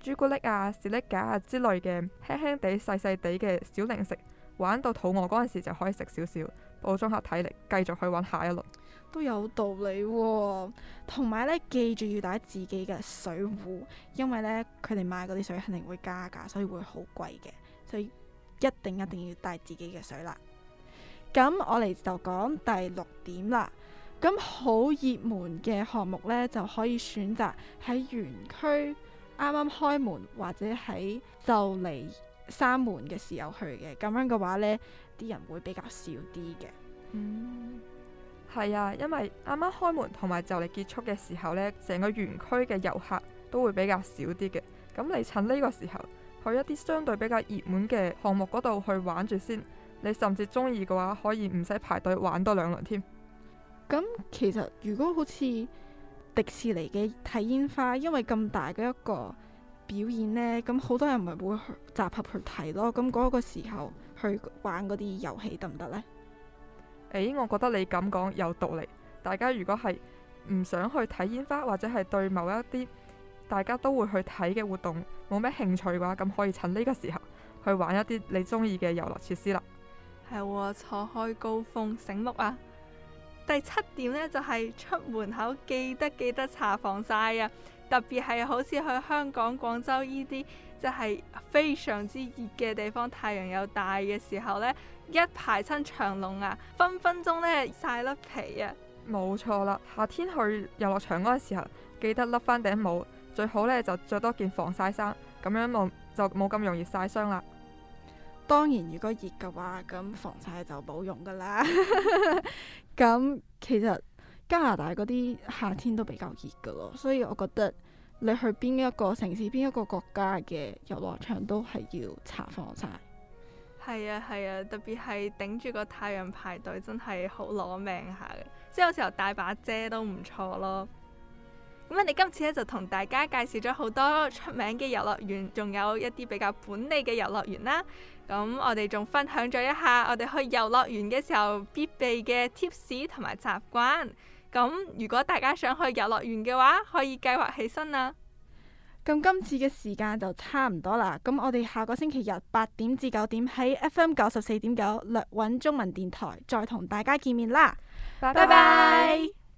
Speaker 14: 朱古力啊、士力架啊之類嘅輕輕地、細細地嘅小零食，玩到肚餓嗰陣時就可以食少少，補充下體力，繼續去玩下一輪。
Speaker 3: 都有道理喎。同埋呢，記住要帶自己嘅水壺，因為呢，佢哋賣嗰啲水肯定會加價，所以會好貴嘅，所以一定要帶自己嘅水啦。咁我哋就講第6點啦。咁好熱門嘅項目呢，就可以選擇喺園區啱啱開門或者喺就嚟閂門嘅時候去嘅。咁樣嘅話呢，啲人會比較少啲嘅。
Speaker 14: 係啊，因為啱啱開門同埋就嚟結束嘅時候呢，成個園區嘅遊客都會比較少啲嘅。咁你趁呢個時候去一啲相對比較熱門嘅項目嗰度去玩住先，你甚至中意嘅話可以唔使排隊玩多2輪添。
Speaker 3: 咁其實如果好似迪士尼嘅睇煙花，因為咁大嘅一個表演呢，咁好多人咪會集合去睇咯。咁嗰個時候去玩嗰啲遊戲得唔得呢？
Speaker 14: 我覺得你咁講有道理。大家如果係唔想去睇煙花，或者係對某一啲大家都會去睇嘅活動冇咩興趣嘅話，咁可以趁呢個時候去玩一啲你中意嘅遊樂設施啦。
Speaker 2: 係喎，錯開高峰，醒目啊！第7點呢，就係出門口記得搽防曬啊！特別係好似去香港、廣州呢啲即係非常之熱嘅地方，太陽又大嘅時候呢，一排親長龍啊，分分鐘呢曬甩皮啊！
Speaker 14: 冇錯啦，夏天去遊樂場嗰個時候，記得笠翻頂帽，最好呢就着多件防曬衫，咁樣就冇咁容易曬傷啦。
Speaker 3: 當然，如果熱嘅話，咁防曬就冇用噶啦。咁其實加拿大嗰啲夏天都比較熱噶咯，所以我覺得你去邊一個城市、邊一個國家嘅遊樂場都係要搽防曬。
Speaker 2: 係啊，特別係頂住個太陽排隊，真係好攞命下嘅。即係有時候帶把遮都唔錯咯。咁我哋今次咧就同大家介紹咗好多出名嘅遊樂園，仲有一啲比較本地嘅遊樂園啦。咁我哋仲分享咗一下我哋去遊樂園嘅時候必備嘅 tips 同埋習慣。咁如果大家想去遊樂園嘅話，可以計劃起身啦。
Speaker 3: 咁今次嘅時間就差唔多啦。咁我哋下個星期日8點至9點喺 FM 94.9略穩中文電台再同大家見面啦。拜拜。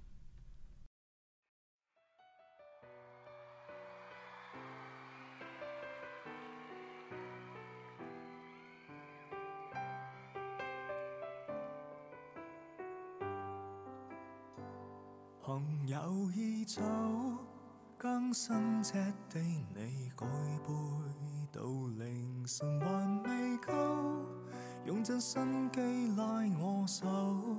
Speaker 13: 朋友已走，更新赤地你舉杯到凌晨還未夠，用盡心機拉我手，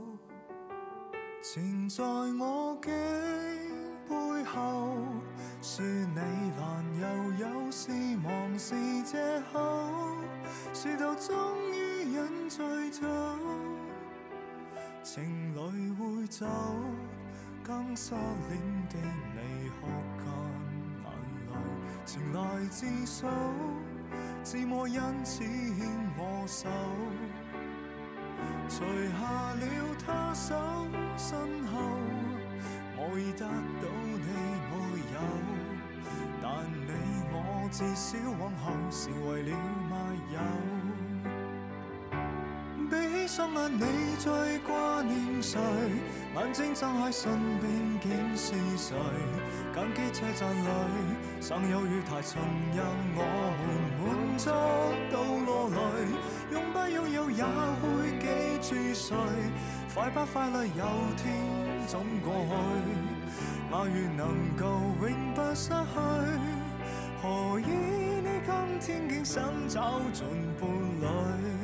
Speaker 13: 纏在我頸背後，說你難又有事忙是藉口，說到終於飲醉酒，情侶會走，更失戀的你哭乾眼淚，前來自首，自我因此牽我手，除下了他手身後，我已得到你沒有，但你我至少往後成為了密友。比起雙眼你最掛念誰？眼睛睜開身邊竟是誰？感激車站裏尚有月台曾讓我們滿足到落淚，擁不擁有也會記住誰？快不快樂有天總過去，愛願能夠永不失去，何以你今天竟想找盡伴侶？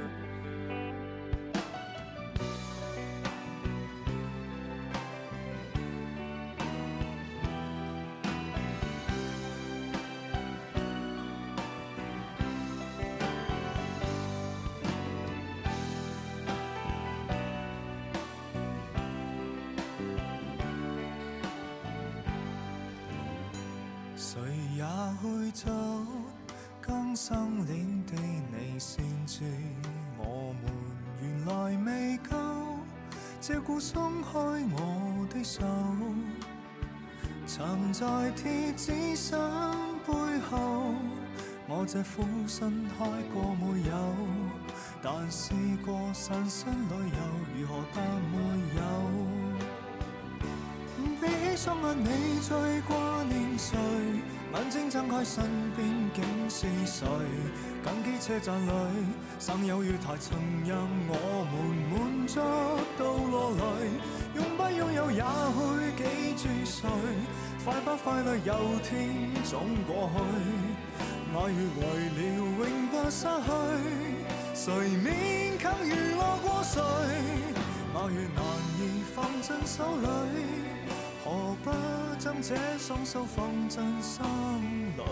Speaker 13: 誰也會走，更生戀的你先知我們原來未夠，借故鬆開我的手， 藏在貼紙箱背後，我這苦心開過沒有，但試過散心旅遊，如何但沒有。比起雙眼你最掛念誰？眼睛睜開身邊竟是誰？緊機車站裏生有月台曾讓我們滿足到落淚，擁不擁有也會記住誰？快不快樂有天總過去，愛越為了永不失去，誰勉強娛樂過誰？愛越難以放進手裏，何不將這雙手放進心裏？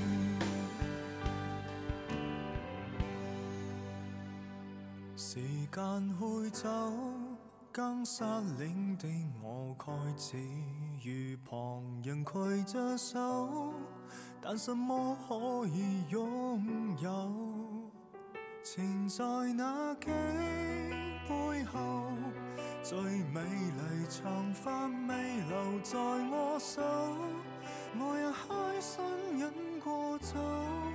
Speaker 13: 時間會走，更失戀的我蓋只與旁人攜着手，但什麼可以擁有？纏在那記背後，最美麗長髮未留在我手，我也開心飲過酒。